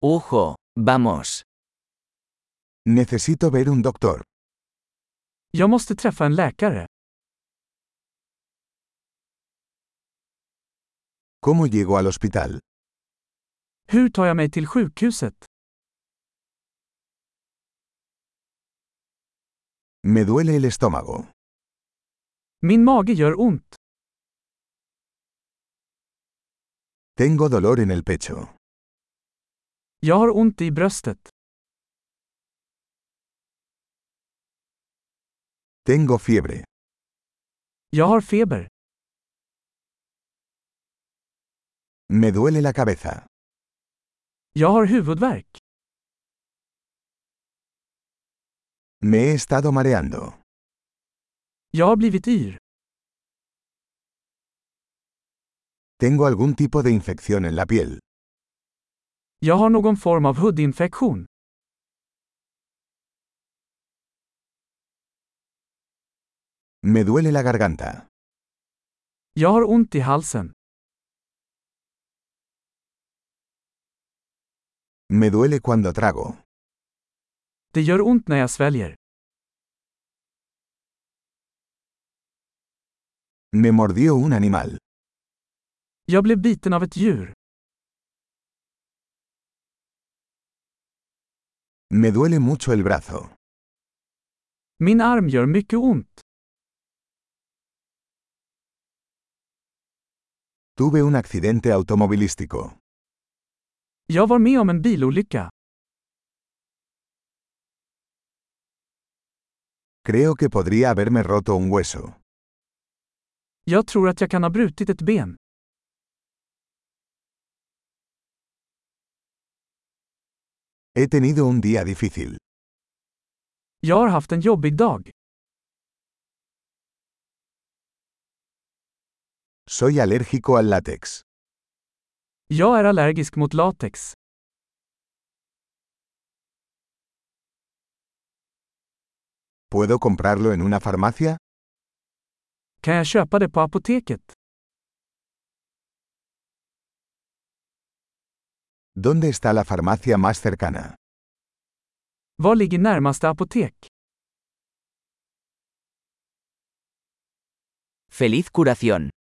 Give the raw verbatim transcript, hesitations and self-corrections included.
Ujo, vamos. Necesito ver un doctor. Jag måste träffa en läkare. ¿Cómo llego al hospital? Hur tar jag mig till sjukhuset? Me duele el estómago. Min mage gör ont. Tengo dolor en el pecho. Jag har ont i bröstet. Tengo fiebre. Jag har feber. Me duele la cabeza. Jag har huvudvärk. Me he estado mareando. Jag har blivit yr. Tengo algún tipo de infección en la piel. Jag har någon form av hudinfektion. Me duele la garganta. Jag har ont i halsen. Me duele cuando trago. Det gör ont när jag sväljer. Me mordió un animal. Jag blev biten av ett djur. Me duele mucho el brazo. Min arm gör mycket ont. Tuve un accidente automovilístico. Jag var med om en bilolycka. Creo que podría haberme roto un hueso. Jag tror att jag kan ha brutit ett ben. He tenido un día difícil. Jag har haft en jobbig dag. Soy alérgico al látex. Jag är allergisk mot latex. ¿Puedo comprarlo en una farmacia? Kan jag köpa det på apoteket? ¿Dónde está la farmacia más cercana? Var ligger närmaste apotek? Feliz curación.